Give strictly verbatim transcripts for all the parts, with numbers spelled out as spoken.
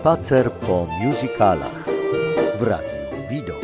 Spacer po musicalach w Radiu Widok.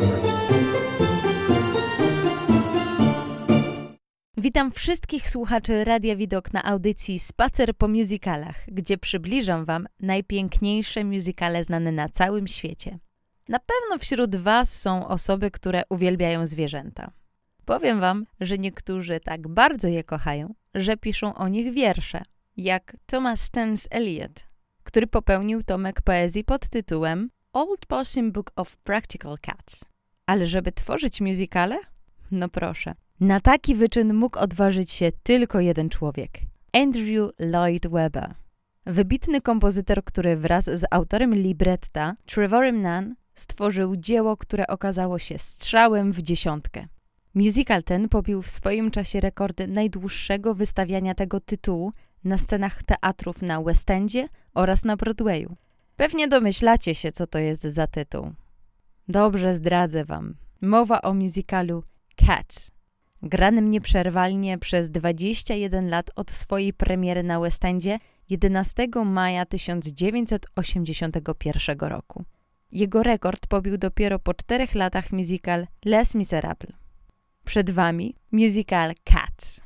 Witam wszystkich słuchaczy Radia Widok na audycji Spacer po musicalach, gdzie przybliżam Wam najpiękniejsze musicale znane na całym świecie. Na pewno wśród Was są osoby, które uwielbiają zwierzęta. Powiem Wam, że niektórzy tak bardzo je kochają, że piszą o nich wiersze, jak Thomas Stance Eliot, który popełnił tomek poezji pod tytułem Old Possum Book of Practical Cats. Ale żeby tworzyć musicale? No proszę. Na taki wyczyn mógł odważyć się tylko jeden człowiek. Andrew Lloyd Webber. Wybitny kompozytor, który wraz z autorem libretta, Trevorem Nunn, stworzył dzieło, które okazało się strzałem w dziesiątkę. Musical ten pobił w swoim czasie rekordy najdłuższego wystawiania tego tytułu na scenach teatrów na West Endzie oraz na Broadwayu. Pewnie domyślacie się, co to jest za tytuł. Dobrze, zdradzę Wam. Mowa o musicalu Cats, granym nieprzerwalnie przez dwadzieścia jeden lat od swojej premiery na West Endzie jedenastego maja tysiąc dziewięćset osiemdziesiątego pierwszego roku. Jego rekord pobił dopiero po czterech latach musical Les Miserables. Przed Wami musical Cats.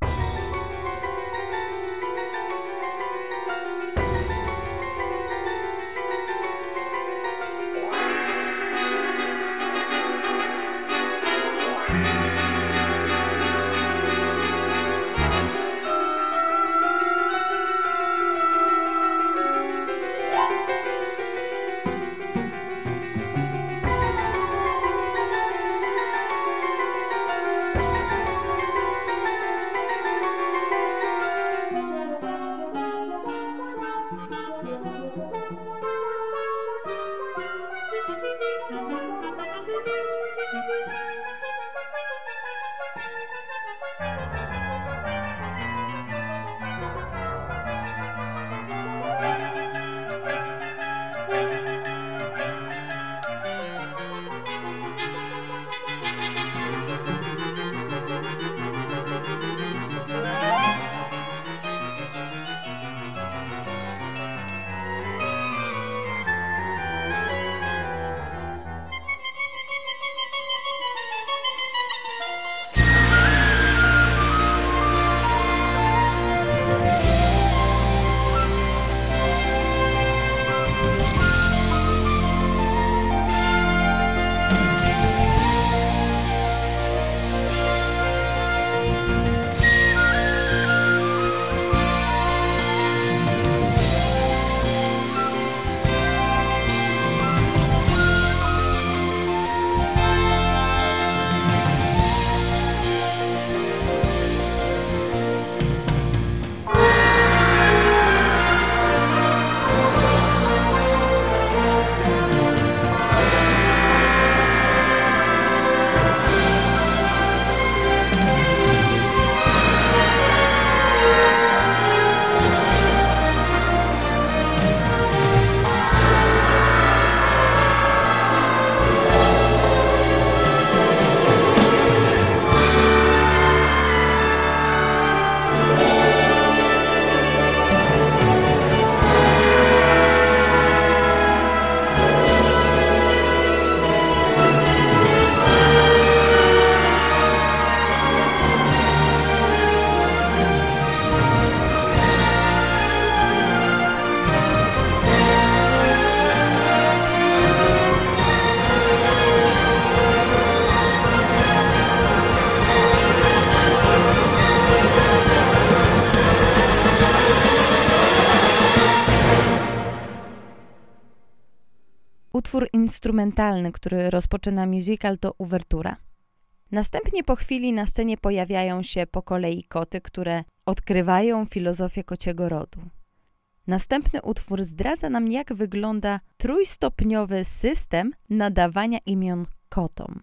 Utwór instrumentalny, który rozpoczyna musical, to uwertura. Następnie po chwili na scenie pojawiają się po kolei koty, które odkrywają filozofię kociego rodu. Następny utwór zdradza nam, jak wygląda trójstopniowy system nadawania imion kotom.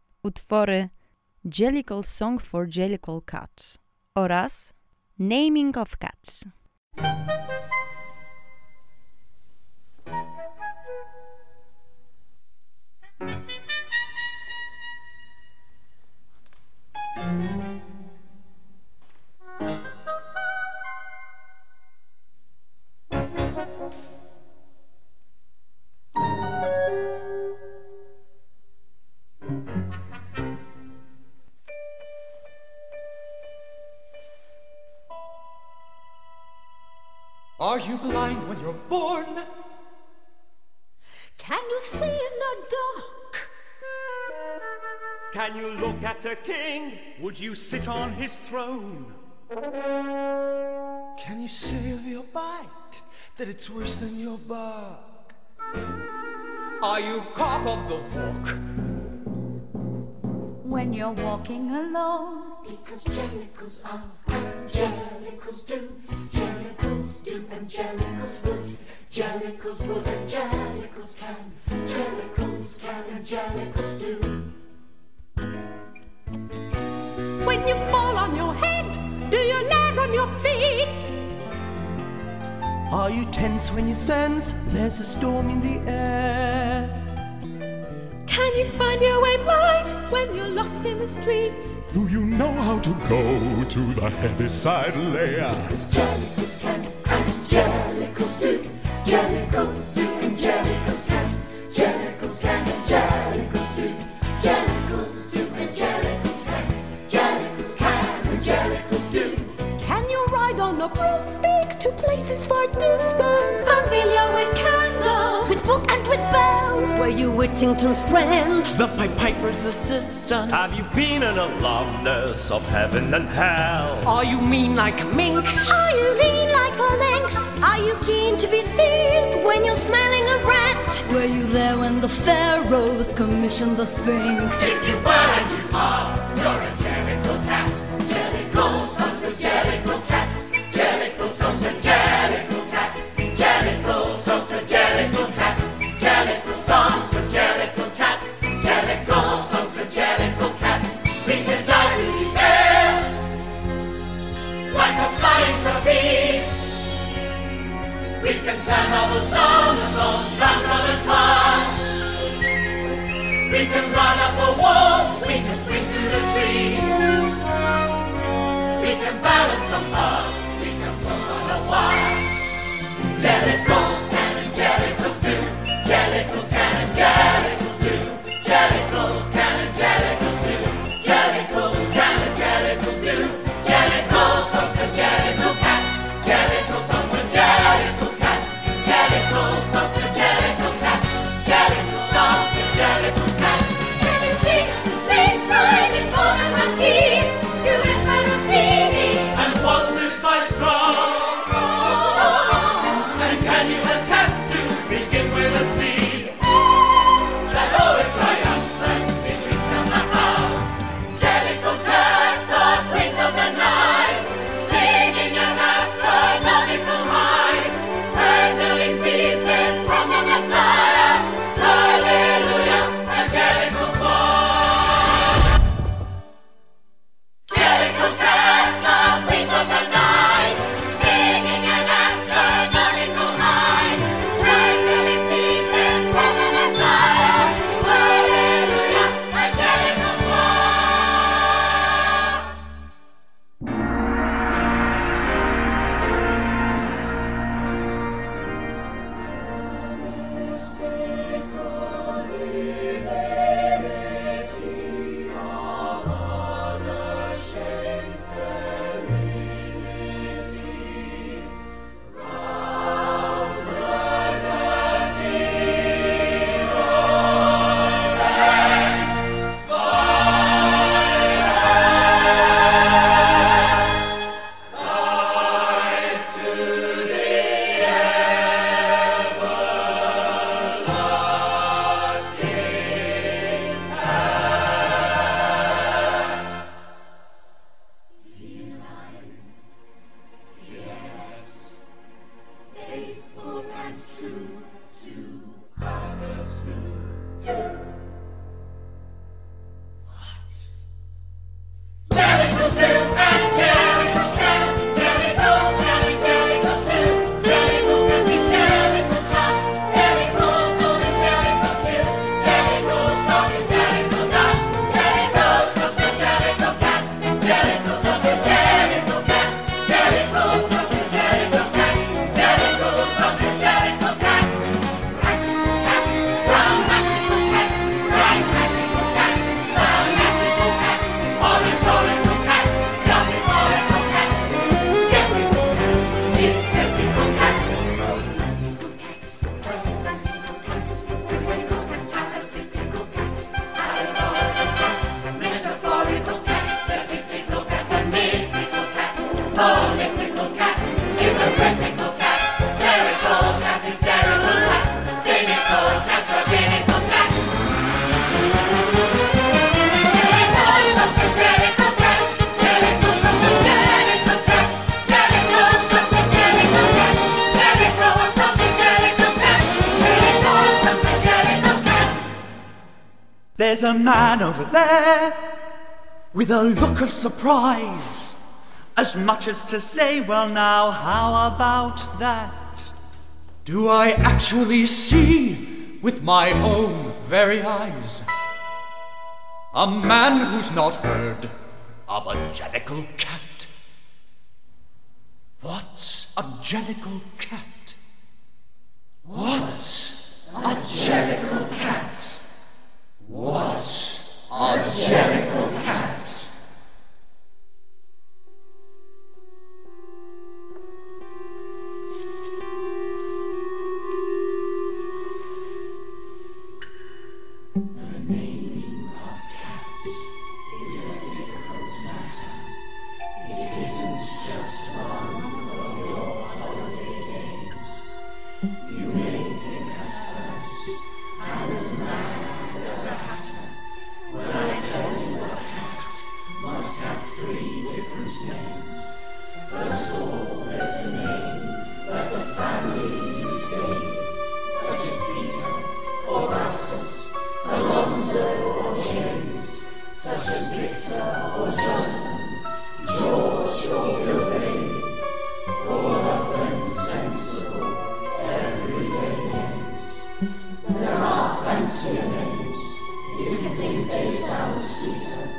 Utwory Jellicle Song for Jellicle Cat oraz Naming of Cats. Are you blind when you're born? Can you see in the dark? Can you look at a king? Would you sit on his throne? Can you say of your bite that it's worse than your bark? Are you cock of the walk? When you're walking alone? Because jellicles are and jellicles do, jellicles do and jellicles would, jellicles would and jellicles can, jellicles can and jellicles do. When you fall on your head, do you land on your feet? Are you tense when you sense there's a storm in the air? Can you find your way blind when you're lost in the street? Do you know how to go to the Heaviside lair? Because jellicles can and jellicles do, jellicles do and jellicles can, jellicles can and jellicles do, jellicles do and jellicles can, jellicles can and jellicles do. Can you ride on a broomstick to places far distant? Familiar with candle, With book and with bell? were you Whittington's friend? The Pied Piper's assistant? Have you been an alumnus of heaven and hell? Are you mean like minks? Are you lean like a lynx? Are you keen to be seen when you're smelling a rat? Were you there when the pharaohs commissioned the Sphinx? If you were and you are, you're a jellicle cat. Jellicle songs for jellicle cats. Jellicle songs for jellicle cats. Jellicle songs for jellicle cats. Jellicle songs for jellicle cats. Jellicle songs for jellicle cats. We can fly through the air like a flying trapeze. We can turn all the songs, the songs bounce on the tongue. We can run up a wall, we can swing through the trees. We can balance a bus, we can run on a wire. Jellicles can and jellicles do, jellicles can and jellicles do, jellicles can and jellicles do, jellicles can and jellicles do, jellicles songs for jellicle cats, jellicle songs for jellicle cats, jellicle songs for jellicle cats, jellicle songs for jellicle cats. Can you sing at the same time in more than one key? Do it when I see me. And waltzes by There's a man over there with a look of surprise, as much as to say, well now, how about that? Do I actually see with my own very eyes a man who's not heard of a jellicle cat? What's a jellicle cat? What's a jellicle cat? What's a jellicle cat? The naming of cats is a difficult matter. It isn't just one of your holiday games. You may think at first I'm as mad as a hatter when I tell you a cat must have three different names. First of all, there's the name that the family use name, such as Peter, Augustus, Alonzo or James, such as Victor or Jonathan, George or Bill Bailey, all of them sensible, everyday names. There are fancier names, if you think they sound sweeter.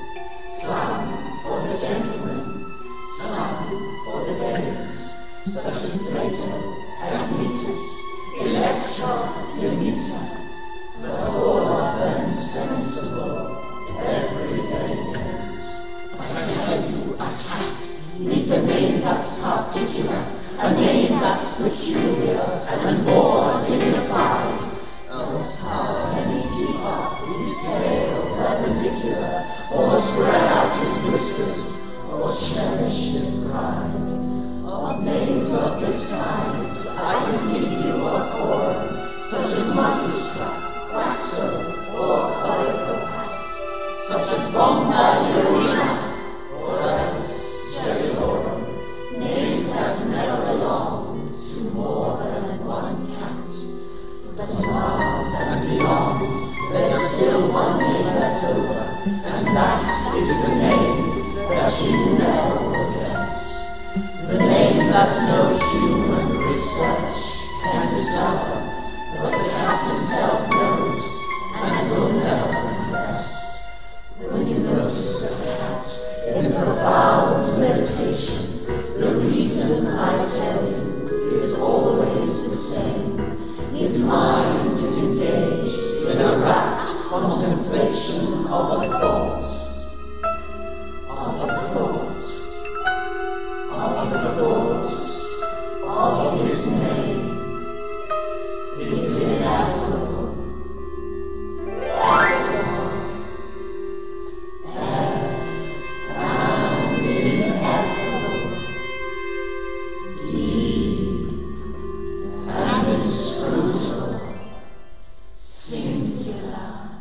Some for the gentlemen, some for the dames, such as Plato, Admetus, Electra, Demeter. But all of them sensible, everyday names. But I tell you, a cat needs a name that's particular, a name that's peculiar and more dignified. Else how can he keep up his tail perpendicular, or spread out his whiskers, or cherish his pride? Of names of this kind, I can give you a chord, such as Monkeystrap, Quaxo, or Corycopat, such as Bombalurina, or else Jellilorum, names that never belong to more than one cat. But above and beyond, there's still one name left over, and that is the name that you never will guess. The name that no human research can discover, but the cat himself knows and will never confess. When you notice a cat in profound meditation, the reason I tell you is always the same. His mind is engaged in a rapt contemplation of a thought, of a thought, of a thought, of his name. Is ineffable, effable, F and ineffable, deep and inscrutable, singular.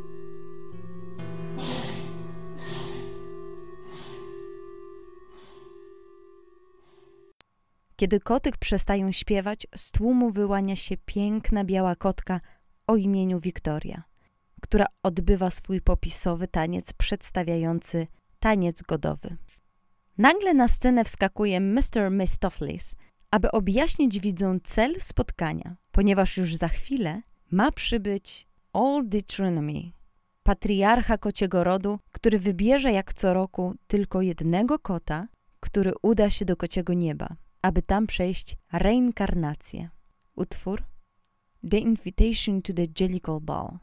Kiedy koty przestają śpiewać, z tłumu wyłania się piękna biała kotka o imieniu Wiktoria, która odbywa swój popisowy taniec przedstawiający taniec godowy. Nagle na scenę wskakuje mister Mistopheles, aby objaśnić widzom cel spotkania, ponieważ już za chwilę ma przybyć Old Deuteronomy, patriarcha kociego rodu, który wybierze jak co roku tylko jednego kota, który uda się do kociego nieba, aby tam przejść reinkarnację. Utwór The Invitation to the Jellicle Ball.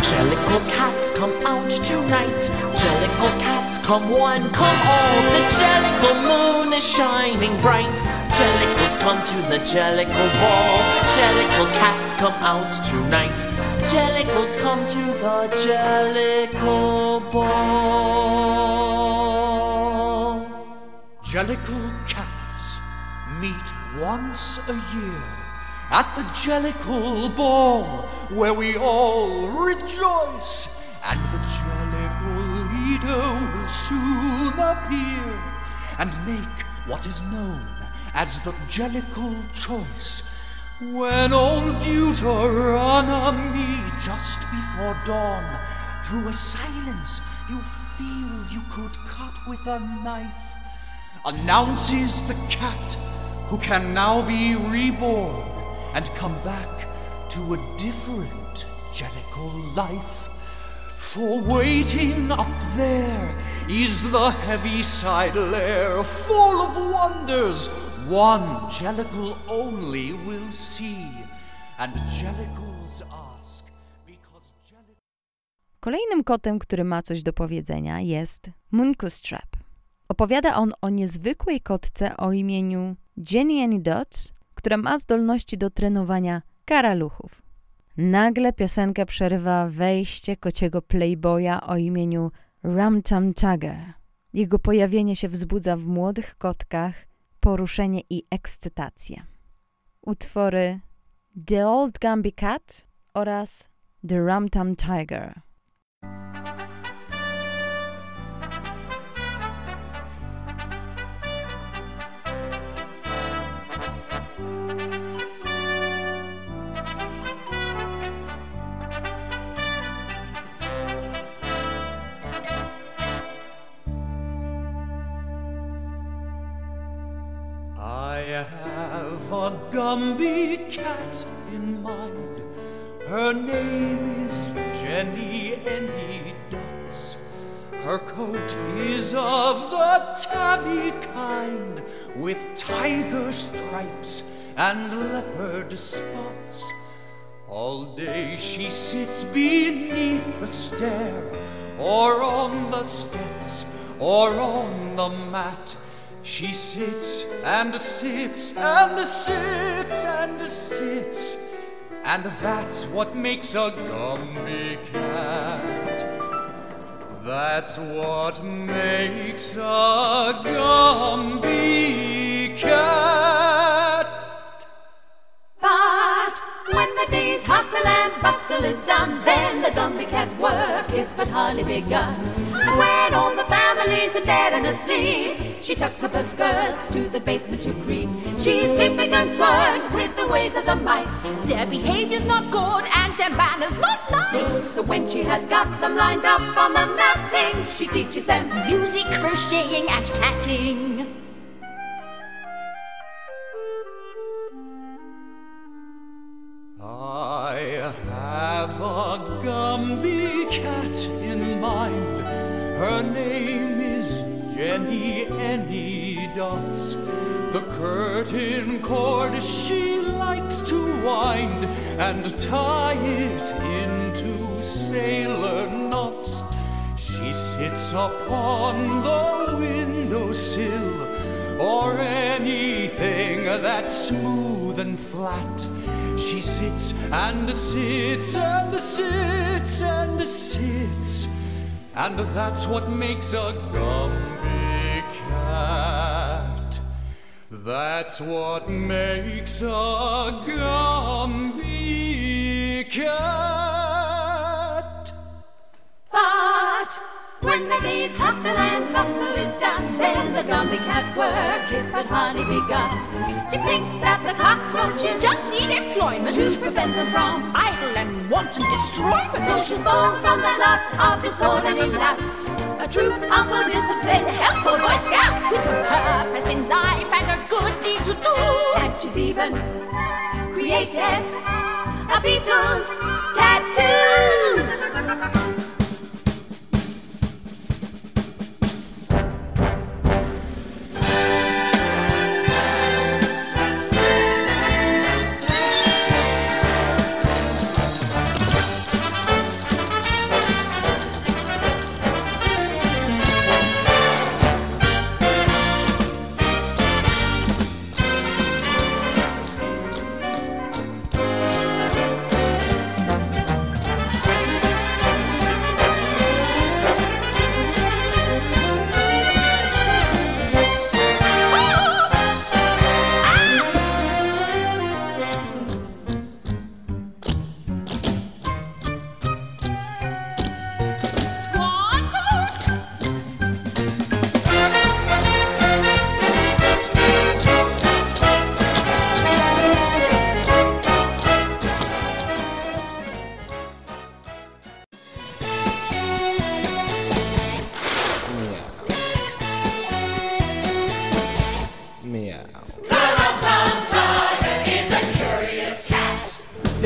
Jellicle cats, come out tonight. Jellicle cats, come one, come all. The Jellicle moon is shining bright. Jellicles come to the Jellicle ball. Jellicle cats, come out tonight. Jellicles come to the Jellicle ball. Jellicle cats meet once a year at the Jellicle ball, where we all rejoice, and the Jellicle leader will soon appear and make what is known as the Jellicle choice. When old Deuteronomy, just before dawn, through a silence you feel you could cut with a knife, announces the cat who can now be reborn and come back to a different Jellicle life. For waiting up there is the Heaviside Lair, full of wonders one Jellicle only will see, and Jellicles ask because Jellicle... Kolejnym kotem, który ma coś do powiedzenia, jest Munkus Trap. Opowiada on o niezwykłej kotce o imieniu Jenny Annie Dots, która ma zdolności do trenowania karaluchów. Nagle piosenkę przerywa wejście kociego playboya o imieniu Rum Tum Tugger. Jego pojawienie się wzbudza w młodych kotkach poruszenie i ekscytację. Utwory The Old Gumby Cat oraz The Rum Tum Tiger. I have a Gumby cat in mind. Her name is Jenny Annie Dots. Her coat is of the tabby kind, with tiger stripes and leopard spots. All day she sits beneath the stair, or on the steps, or on the mat. She sits and sits and sits and sits, and that's what makes a Gumby cat. That's what makes a Gumby cat. But when the day's hustle and bustle is done, then the Gumby cat's work is but hardly begun. And when all the family's are dead and asleep, she tucks up her skirts to the basement to creep. She's deeply concerned with the ways of the mice. Their behavior's not good and their manners not nice. So when she has got them lined up on the matting, she teaches them music, crocheting and tatting. I have a Gumby cat in mind. Her name is Jenny Annie Dots. The curtain cord she likes to wind and tie it into sailor knots. She sits upon the windowsill, or anything that's smooth and flat. She sits and sits and sits and sits, and that's what makes a Gumby cat. That's what makes a Gumby cat. But when the day's hustle and bustle is done, then the Gumby cat's work is but hardly begun. She thinks that the cockroaches just need employment to prevent them from idle and wanton destroyment. So she's born from the lot of disorderly louts, a troop of well-disciplined, helpful Boy Scouts, with a purpose in life and a good deed to do. And she's even created a Beatles tattoo.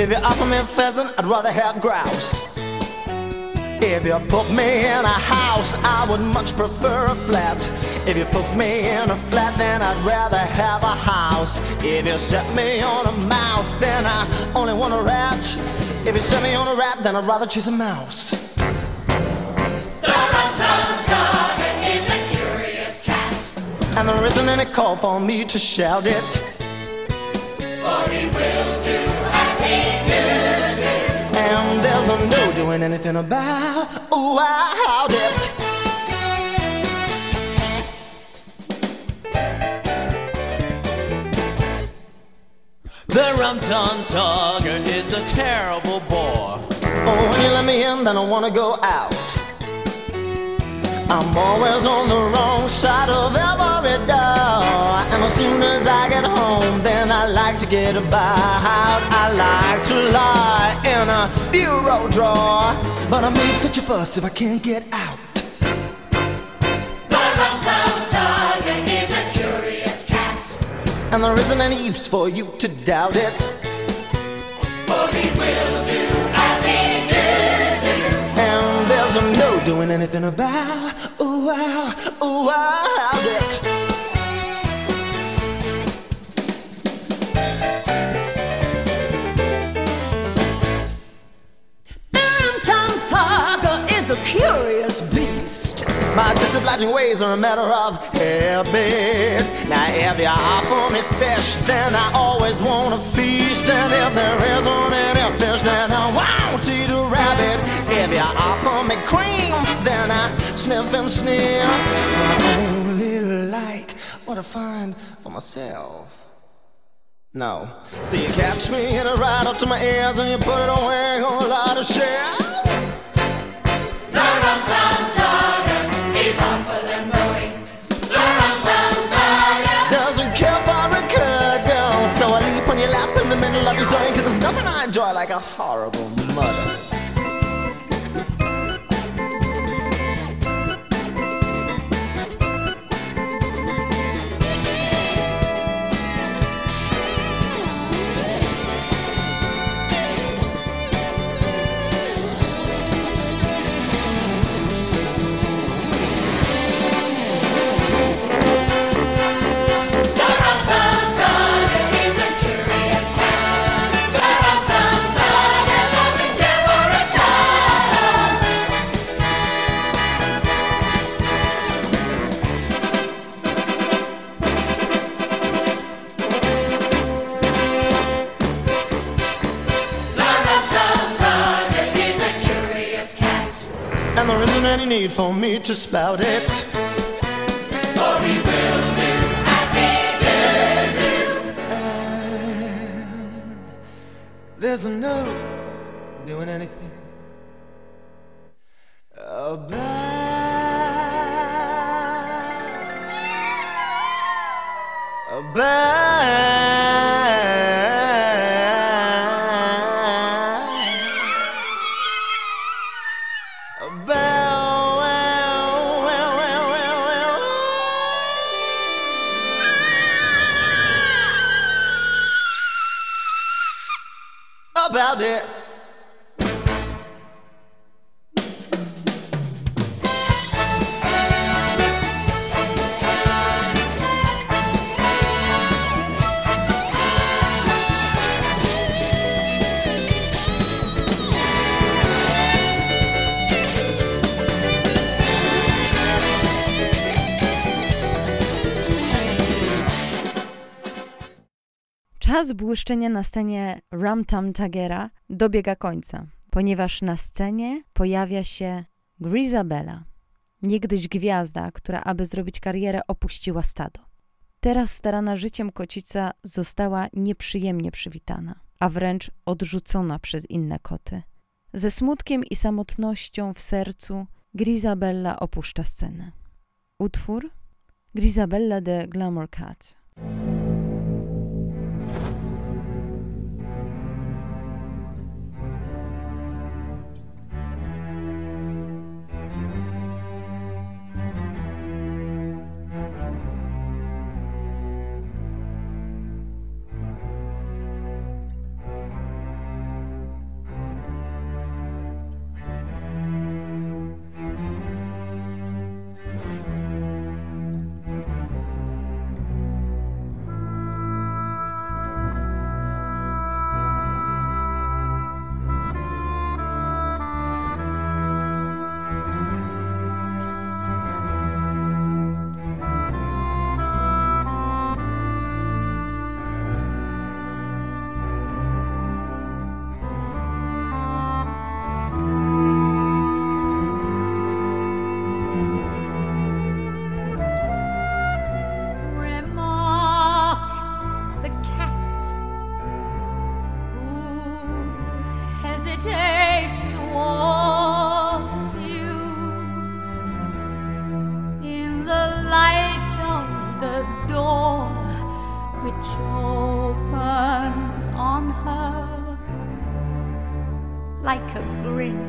If you offer me pheasant, I'd rather have grouse. If you put me in a house, I would much prefer a flat. If you put me in a flat, then I'd rather have a house. If you set me on a mouse, then I only want a rat. If you set me on a rat, then I'd rather chase a mouse. The Rum-Tum Tugger is a curious cat, And there isn't any call for me to shout it, for he will do as he do do. and there's no doing anything about, ooh, I how'd it. The Rum-Tum Tugger is a terrible bore. Oh, when you let me in, then I wanna go out. I'm always on the wrong side of every door, and as soon as I get home, then I like to get about. I like to lie in a bureau drawer, but I make such a fuss if I can't get out. The Rum-Tum Tugger is a curious cat, And there isn't any use for you to doubt it, for he will do as he do do. and there's no doing anything about, ooh, wow, ooh, wow, how'd it. The Rum-Tum Tugger is a curious beast. My disobliging ways are a matter of habit. Now if you offer me fish, then I always want a feast. And if there isn't any fish, then I won't eat a rabbit. If you offer me cream, then I sniff and sneer. I only like what I find for myself. No, so you catch me and it right up to my ears, and you put it away on a lot of shit. The Rum-Tum Tugger is awful and mowing. The Rum-Tum Tugger Doesn't care for a cuddle, so I leap on your lap in the middle of your zone, 'cause there's nothing I enjoy like a horrible mother. The Rum-Tum Tugger is a curious cat. The Rum-Tum Tugger doesn't care for a cuddle. The Rum-Tum Tugger is a curious cat, And there isn't any need for me to spout it, for he will do as he do do. and there's no doing anything about, about, about, well, well, well, well, well. About it. Czas błyszczenia na scenie Rum-Tum Tuggera dobiega końca, ponieważ na scenie pojawia się Grizabella, niegdyś gwiazda, która aby zrobić karierę opuściła stado. Teraz starana życiem kocica została nieprzyjemnie przywitana, a wręcz odrzucona przez inne koty. Ze smutkiem i samotnością w sercu Grizabella opuszcza scenę. Utwór Grizabella the Glamour Cat.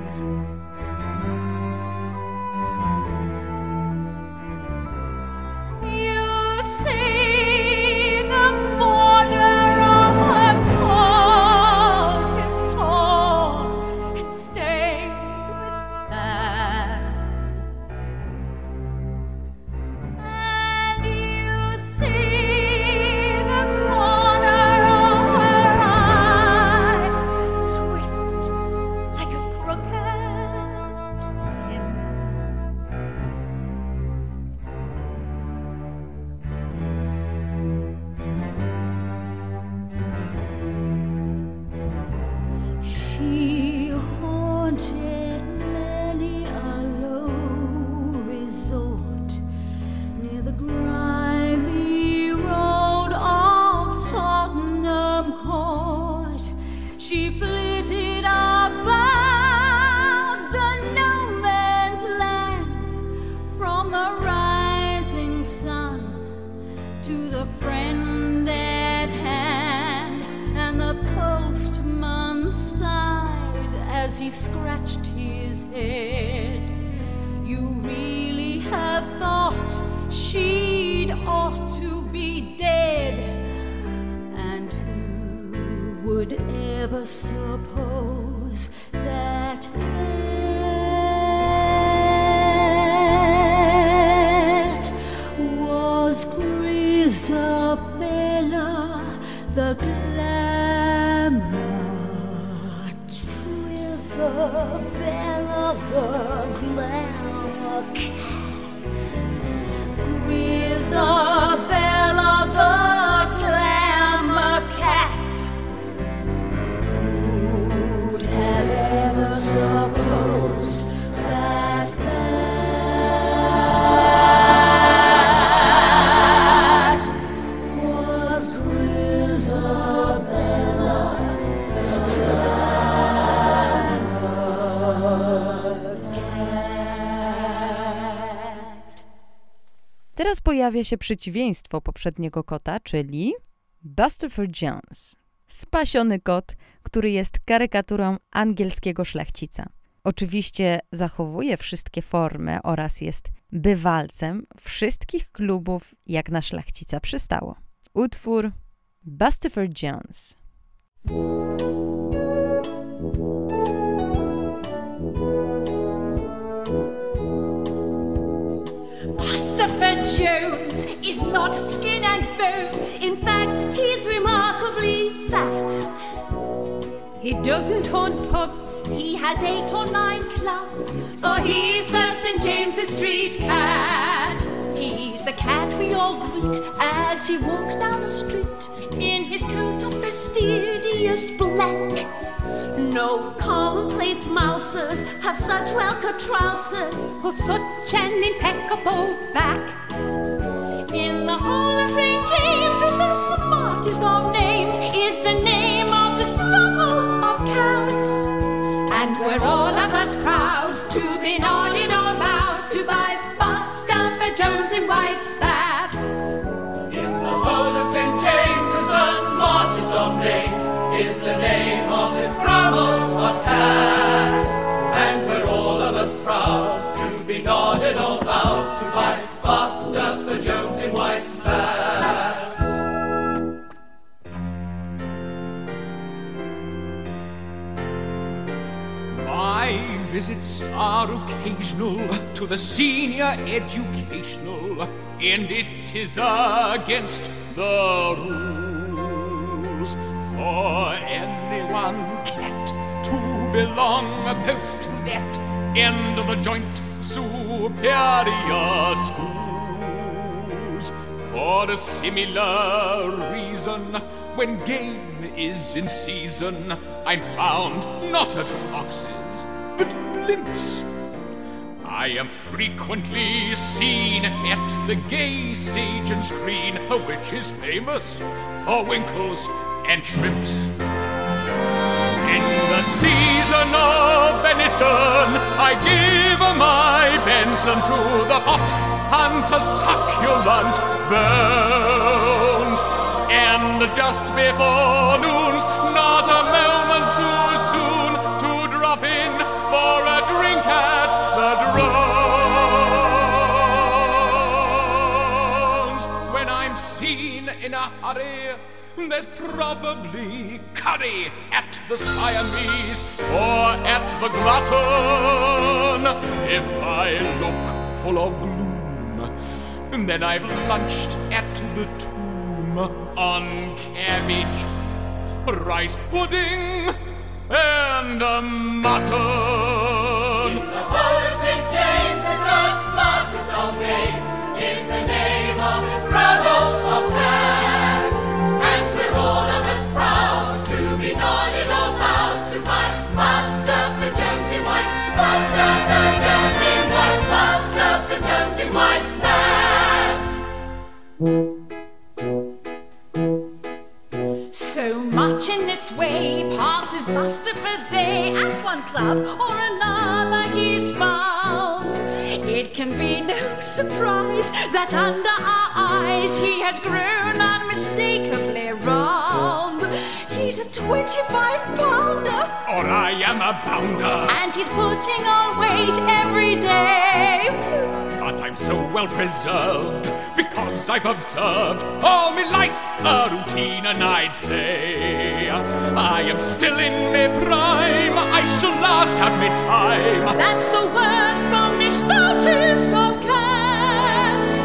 He scratched his head. You really have thought she'd ought to be dead, and who would ever suppose that that was Grisabella the glamour? Grisabella the glamour cat. Grisabella the glamour cat. Who'd have ever supposed that that was Grisabella the Teraz pojawia się przeciwieństwo poprzedniego kota, czyli Bustopher Jones. Spasiony kot, który jest karykaturą angielskiego szlachcica. Oczywiście zachowuje wszystkie formy oraz jest bywalcem wszystkich klubów, jak na szlachcica przystało. Utwór Bustopher Jones. Bustopher Jones is not skin and bone. In fact, he's remarkably fat. He doesn't haunt pubs. He has eight or nine clubs. For he's the Saint James's Street cat. He's the cat we all greet as he walks down the street in his coat of fastidious black. No commonplace mousers have such well-cut trousers or such an impeccable back. In the whole of Saint James is the smartest of names, is the name of this brother of cats. And we're all of us proud to be nodding or bowed to by Bustopher Jones in white spats. In the whole of Saint James is the smartest of names, is the name of this brother of cats. And we're all of us proud to be nodded or bowed to by Bustopher Jones in white spats. My visits are occasional to the senior educational, and it is against the rules for any one cat to belong both to that and the joint superior schools. For a similar reason, when game is in season, I'm found not at foxes, but blimps. I am frequently seen at the gay stage and screen, which is famous for winkles and shrimps. In the season of venison, I give my Benson to the pot and to succulent bones. And just before noon's not a moment too soon to drop in for There's probably curry at the Siamese or at the Glutton. If I look full of gloom, then I've lunched at the Tomb on cabbage, rice pudding, and a mutton. In the whole of Saint James is the smartest of maids, is the name of this bravo of cats. And we're all of us proud to be nodded or bowed to by Master the Jones in White, Master the Jones in White, Master the Jones in White snacks. So much in this way passes muster first day at one club or another he's found. It can be no surprise that under our eyes he has grown unmistakably round. He's a twenty-five pounder, Or I am a bounder, and he's putting on weight every day. but I'm so well preserved because I've observed all my life a routine, and I'd say I am still in my prime. I shall last out my time. That's the word from the stoutest of cats.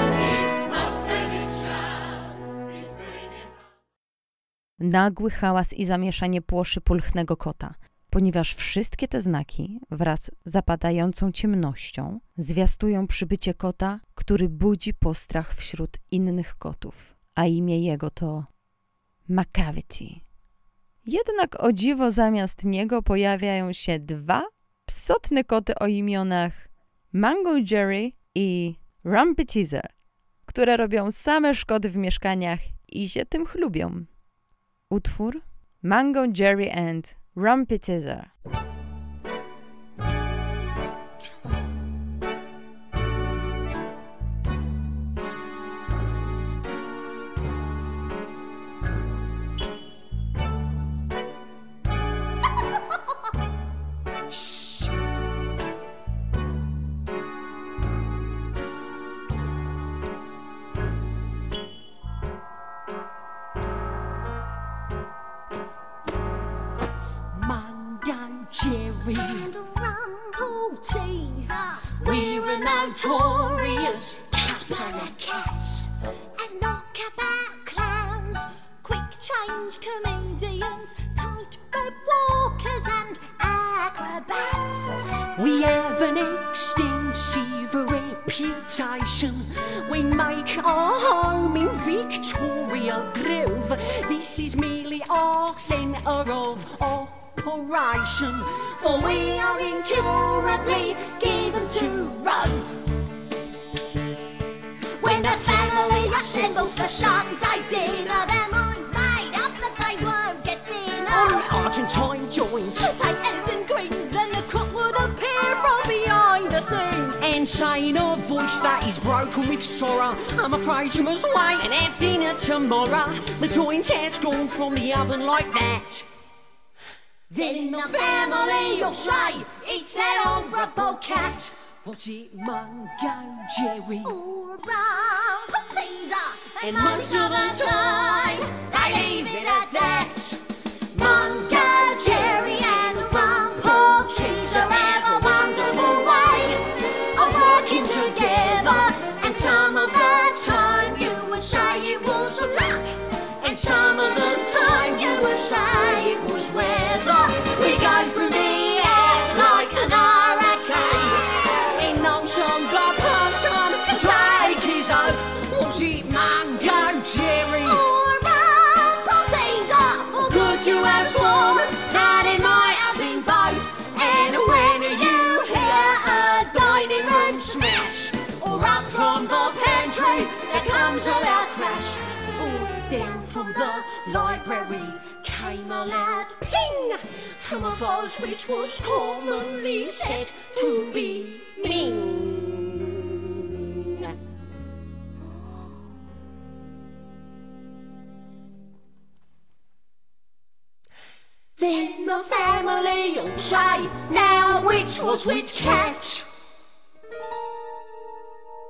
Nagły hałas i zamieszanie płoszy pulchnego kota, ponieważ wszystkie te znaki wraz z zapadającą ciemnością zwiastują przybycie kota, który budzi postrach wśród innych kotów, a imię jego to Macavity. Jednak o dziwo zamiast niego pojawiają się dwa psotne koty o imionach Mango Jerry i Rumpy Teaser, które robią same szkody w mieszkaniach i się tym chlubią. Utwór Mango Jerry and Rumpy Teaser. Jerry and Rumple Teaser, we're a notorious couple of cats. As knockabout clowns, quick change comedians, tightrope walkers and acrobats. We have an extensive reputation. We make our home in Victoria Grove. This is merely our centre of operation, for we are incurably given to rove. When the family assembles for Sunday dinner, their minds made up that they won't get thinner. On Argentine joints, potatoes and greens, then the cook would appear from behind the scenes and say in a voice that is broken with sorrow, I'm afraid you must wait and have dinner tomorrow. The joint has gone from the oven like that. Then the family will say, it's that horrible cat. Was it Mango Jerry or Rumple Teaser? And most of the time, they leave it at that. Mango Jerry and Rumple Teaser have a wonderful way of working together. And some of the time you would say it was luck, and some of the time you would say it was weather. We go through the air like an hurricane, in no some blood person to take his oath. Was it Mango Jerry or Rumple Teaser? Or could you have sworn that it might have been both? And when you hear a dining room smash, or up from the pantry there comes a loud crash, or down from the library came a loud ping from a vase which was commonly said to be Ming. Then the family will say, now which was which cat?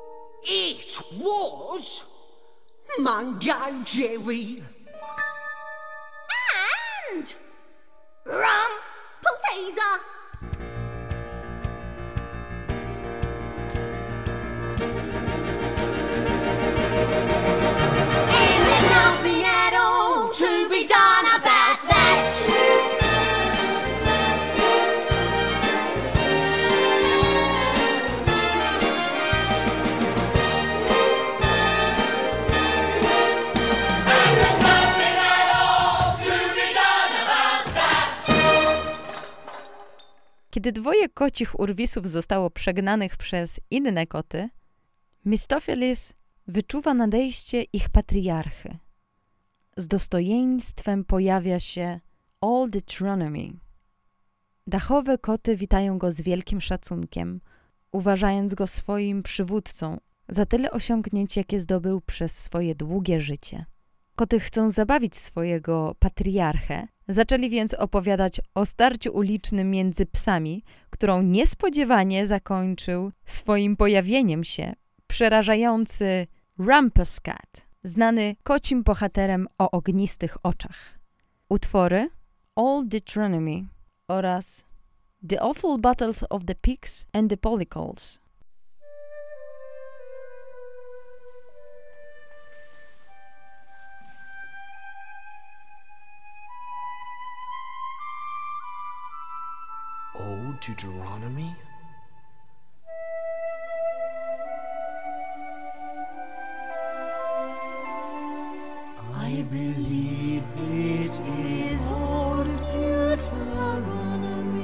It was Mango Jerry. Rum Potaser. And there's nothing at all to be done about that. And there's nothing at all to be done about that. Kiedy dwoje kocich urwisów zostało przegnanych przez inne koty, Mistofelis wyczuwa nadejście ich patriarchy. Z dostojeństwem pojawia się Old Deuteronomy. Dachowe koty witają go z wielkim szacunkiem, uważając go swoim przywódcą za tyle osiągnięć, jakie zdobył przez swoje długie życie. Koty chcą zabawić swojego patriarchę, zaczęli więc opowiadać o starciu ulicznym między psami, którą niespodziewanie zakończył swoim pojawieniem się przerażający Rumpus Cat, znany kocim bohaterem o ognistych oczach. Utwory Old Deuteronomy oraz The Awful Battles of the Pigs and the Polycols. Old Deuteronomy? I believe it is old Deuteronomy.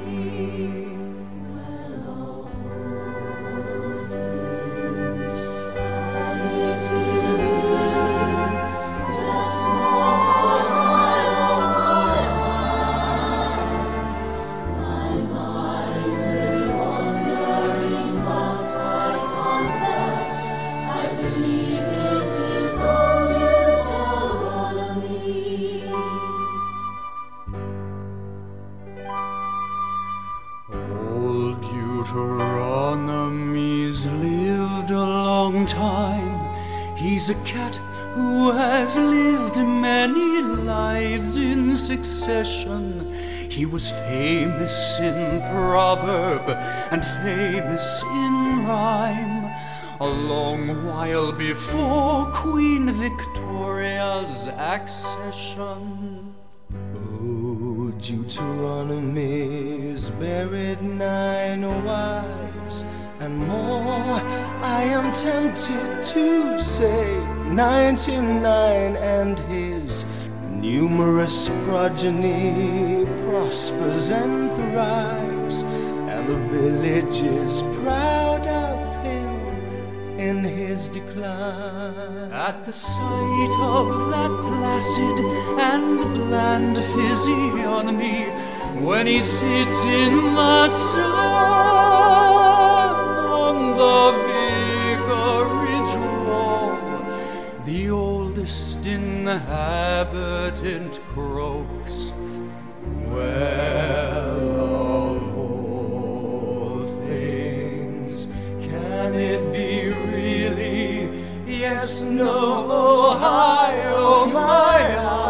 Old Deuteronomy's lived a long time. He's a cat who has lived many lives in succession. He was famous in proverb and famous in rhyme, a long while before Queen Victoria's accession. Oh, Deuteronomy's buried nine wives and more. I am tempted to say ninety-nine, and his numerous progeny prospers and thrives, and the village is proud of him in his decline. At the sight of that placid and bland physiognomy, when he sits in the sun on the vicarage wall, the oldest inhabitant croaks, well, of all things, can it be really? Yes, no, Ohio, my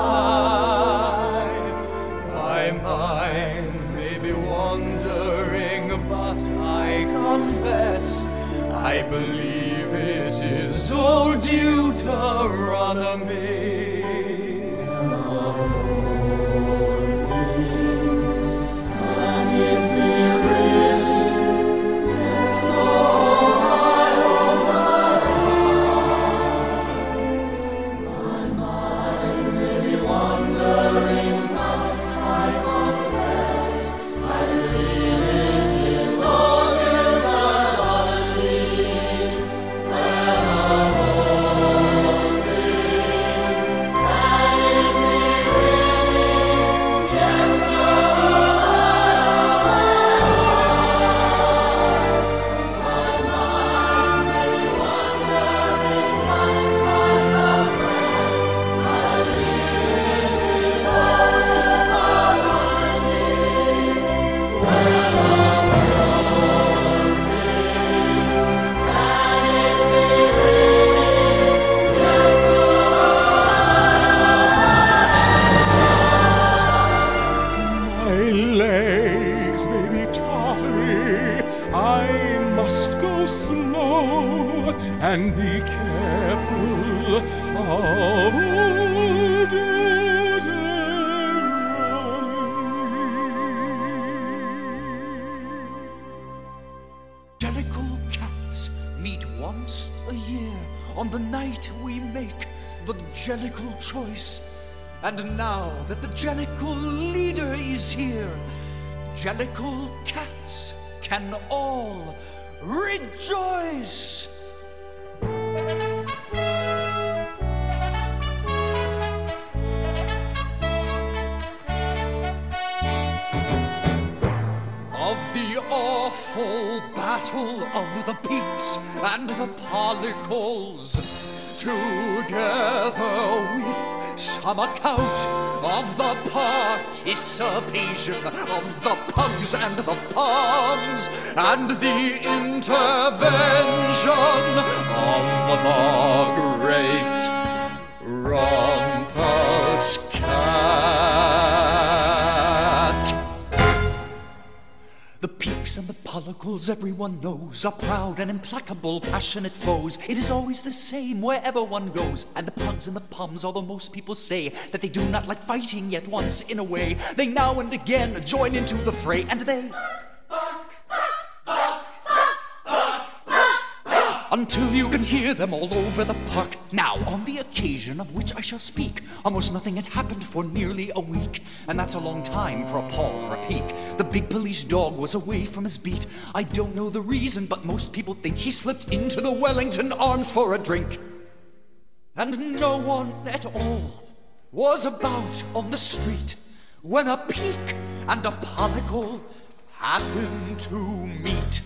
eye. My mind may be wandering, but I confess I believe it is old Deuteronomy. just go slow and be careful of old Jellicle cats meet once a year on the night we make the Jellicle choice. And now that the Jellicle leader is here, Jellicle cats can all rejoice. Of the awful battle of the peaks and the Pollicles, together with some account of the participation of the pugs and the palms, and the intervention of the great Rumpus Cat. The peaks and the Pollicles, everyone knows, are proud and implacable, passionate foes. It is always the same wherever one goes. And the pugs and the pums, although most people say that they do not like fighting, yet once in a way they now and again join into the fray, and they until you can hear them all over the park. Now, on the occasion of which I shall speak, almost nothing had happened for nearly a week, and that's a long time for a paw or a peek. The big police dog was away from his beat. I don't know the reason, but most people think he slipped into the Wellington Arms for a drink. And no one at all was about on the street when a peak and a Pollicle happened to meet.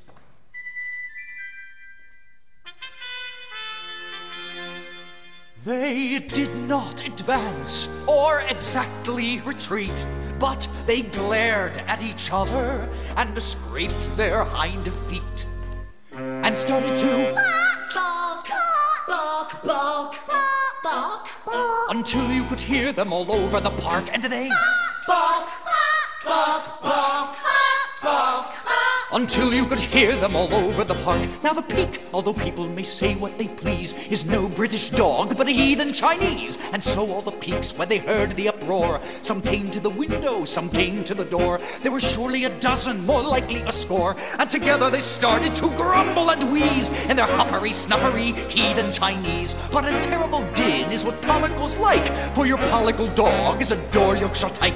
They did not advance or exactly retreat, but they glared at each other and scraped their hind feet and started to bark, bark, bark, bark, bark, until you could hear them all over the park, and they bark, bark, bark, bark, until you could hear them all over the park. Now the peak, although people may say what they please, is no British dog, but a heathen Chinese. And so all the peaks, when they heard the uproar, some came to the window, some came to the door. There were surely a dozen, more likely a score, and together they started to grumble and wheeze in their huffery, snuffery, heathen Chinese. But a terrible din is what Pollicle's like, for your Pollicle dog is a door Yorkshire tyke.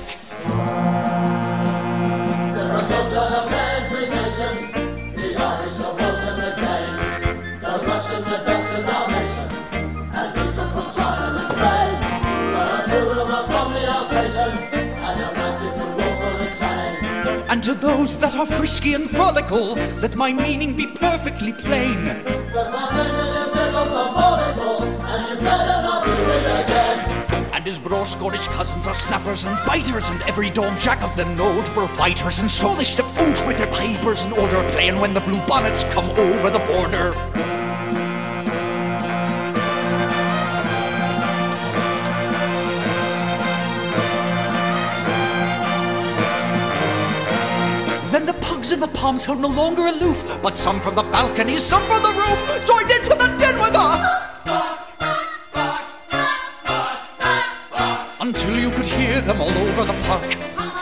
There are dogs on a every nation, the Irish, the Welsh and the Dane, the Russian, the Dutch and Dalmatian, and people from China and Spain. There are two of them from the Alsatian, and a massive from Walsall and Chain. And to those that are frisky and frolical, let my meaning be perfectly plain. But my name is Jellicle Pollicle, and you better not do it again. And his bro Scottish cousins are snappers and biters, and every dog jack of them knowed were fighters, and so they step out with their pipers in order, playing when the blue bonnets come over the border. Then the pugs and the palms held no longer aloof, but some from the balconies, some from the roof, joined into the din with a until you could hear them all over the park.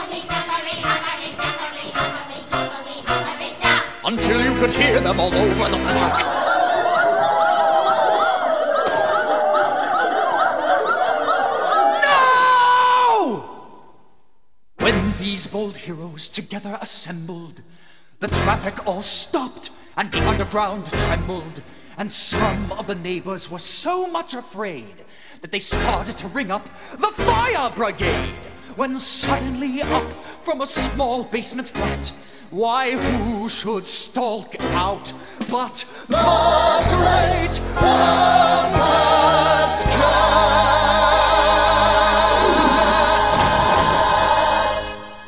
Until you could hear them all over the park. No! When these bold heroes together assembled, the traffic all stopped and the underground trembled, and some of the neighbors were so much afraid that they started to ring up the fire brigade, when suddenly up from a small basement flat, why, who should stalk out but the great Rumpus Cat!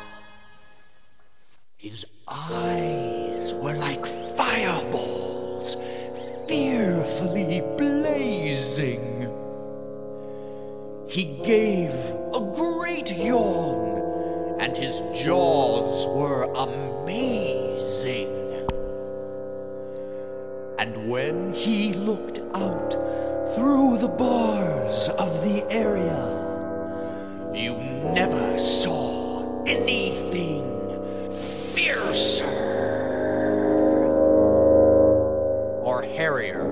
His eyes were like fireballs, fearfully blazing. He gave a great yawn, and his jaws were amazing. And when he looked out through the bars of the area, you never saw anything fiercer or hairier.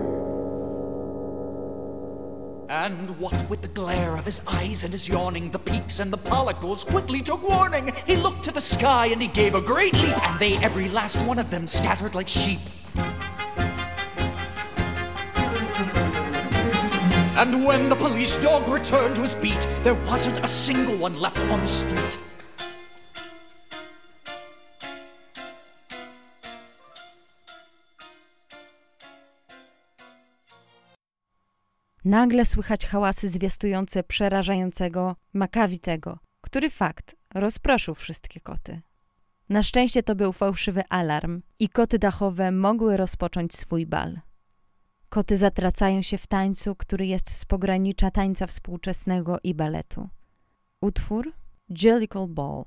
And what with the glare of his eyes and his yawning, the peaks and the pollicles quickly took warning. He looked to the sky and he gave a great leap, and they, every last one of them, scattered like sheep. And when the police dog returned to his beat, there wasn't a single one left on the street. Nagle słychać hałasy zwiastujące przerażającego Makavitego, który fakt rozproszył wszystkie koty. Na szczęście to był fałszywy alarm i koty dachowe mogły rozpocząć swój bal. Koty zatracają się w tańcu, który jest z pogranicza tańca współczesnego i baletu. Utwór Jellicle Ball.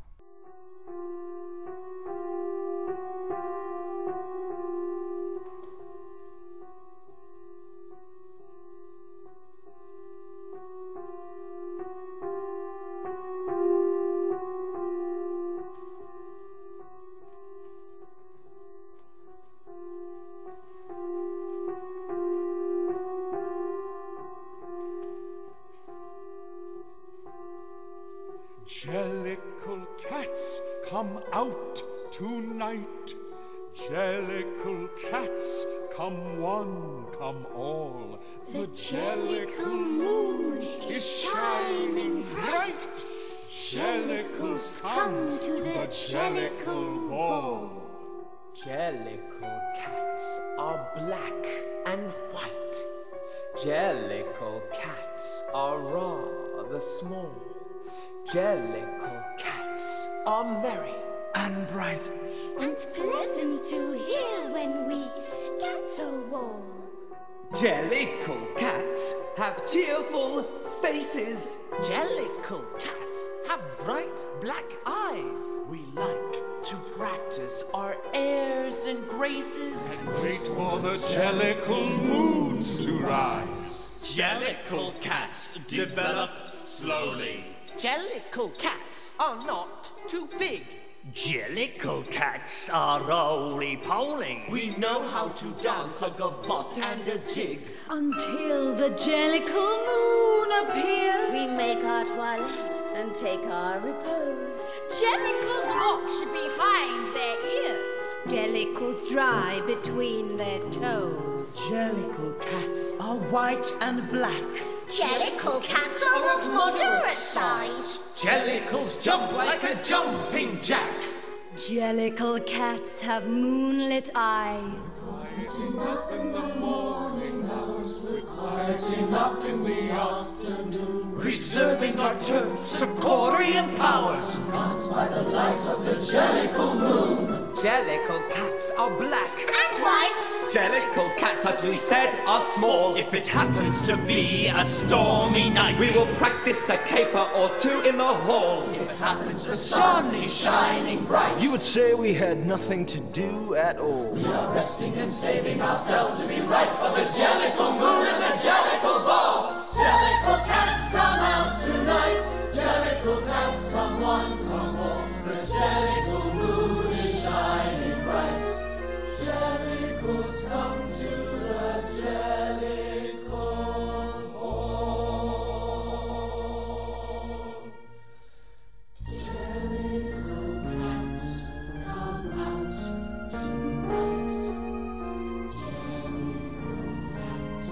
Jellicle cats, come out tonight. Jellicle cats, come one, come all. The Jellicle moon is shining bright. Jellicles come to the Jellicle ball. Jellicle cats are black and white. Jellicle cats are rather small. Jellicle cats are merry and bright, and pleasant to hear when we get a wall. Jellicle cats have cheerful faces. Jellicle cats have bright black eyes. We like to practice our airs and graces and wait for the Jellicle moons to rise. Jellicle cats develop slowly. Jellicle cats are not too big. Jellicle cats are roly-poly. We know how to dance a gavotte and a jig. Until the Jellicle moon appears, we make our toilette and take our repose. Jellicles watch behind their ears. Jellicles dry between their toes. Jellicle cats are white and black. Jellicle cats are of moderate size. Jellicles jump like a jumping jack. Jellicle cats have moonlit eyes. Quiet enough in the morning hours, we're quiet enough in the afternoon. Reserving our terms, Sicorian powers. Dance by the light of the Jellicle moon. Jellicle cats are black and white. Jellicle cats, as we said, are small. If it happens to be a stormy night, we will practice a caper or two in the hall. If it happens the sun is shining bright, you would say we had nothing to do at all. We are resting and saving ourselves to be right for the Jellicle moon and the Jellicle ball. Jellicle cats come out tonight. Jellicle cats come one, come all. The Jellicle moon is shining bright. Jellicles come to the Jellicle ball. Jellicle cats come out tonight. Jellicle cats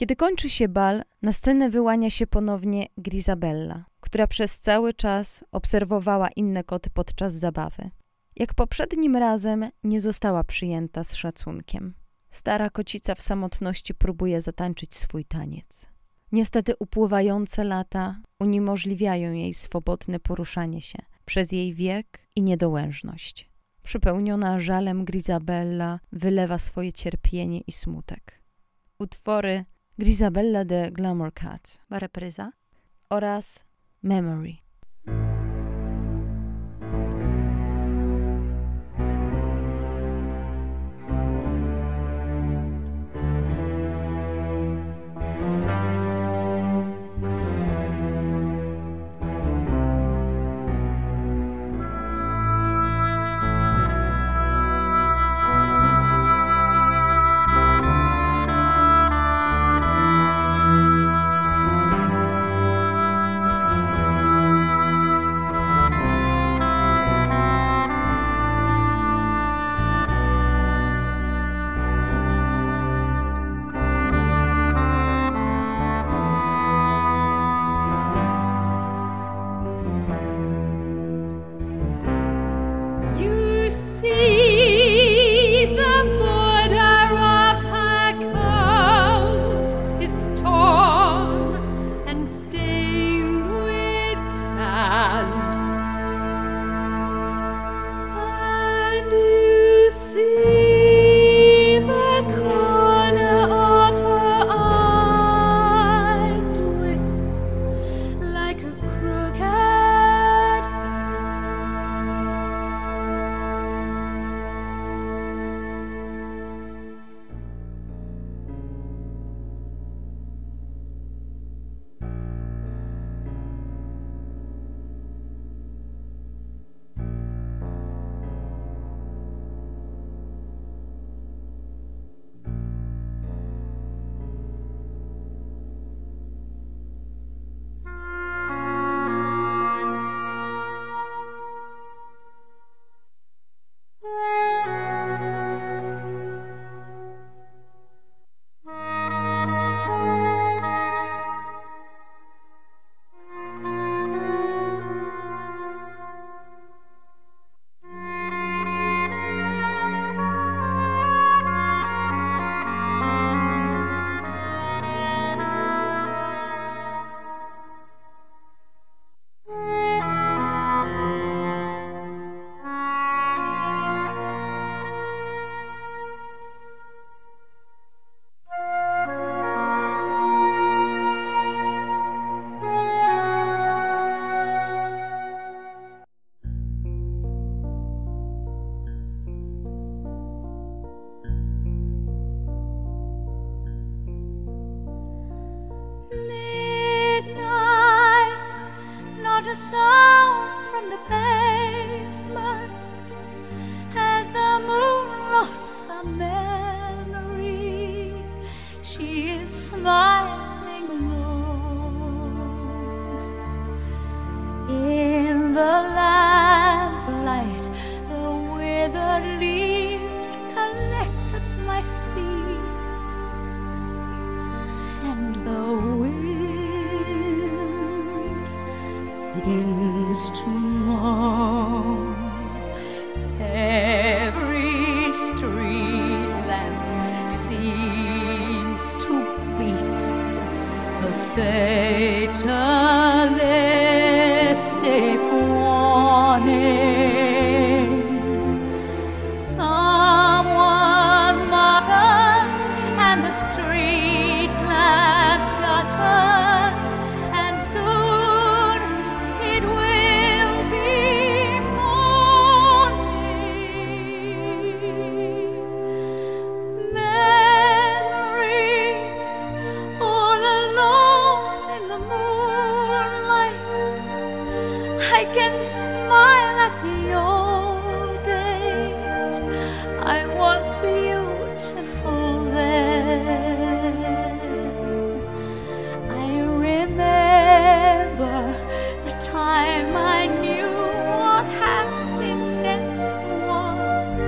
Kiedy kończy się bal, na scenę wyłania się ponownie Grizabella, która przez cały czas obserwowała inne koty podczas zabawy. Jak poprzednim razem nie została przyjęta z szacunkiem. Stara kocica w samotności próbuje zatańczyć swój taniec. Niestety upływające lata uniemożliwiają jej swobodne poruszanie się przez jej wiek i niedołężność. Przypełniona żalem Grizabella wylewa swoje cierpienie i smutek. Utwory Grizabella the Glamour Cat, repryza, oraz Memory.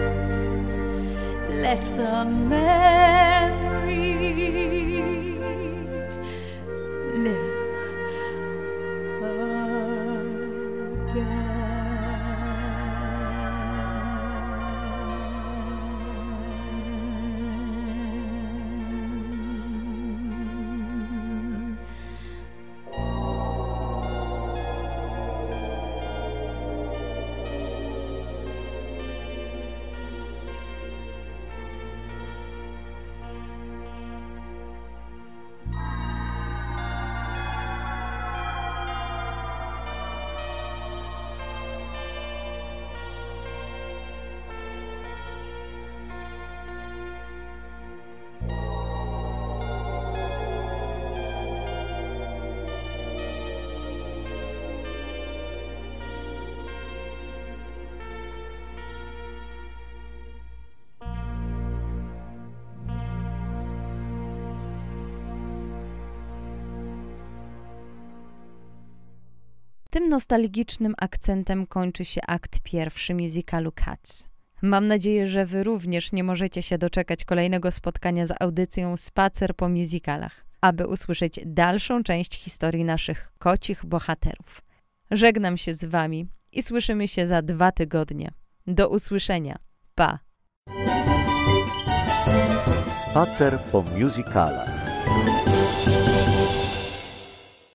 Let the memory Tym nostalgicznym akcentem kończy się akt pierwszy musicalu Cats. Mam nadzieję, że wy również nie możecie się doczekać kolejnego spotkania z audycją Spacer po musicalach, aby usłyszeć dalszą część historii naszych kocich bohaterów. Żegnam się z wami i słyszymy się za dwa tygodnie. Do usłyszenia. Pa! Spacer po musicalach.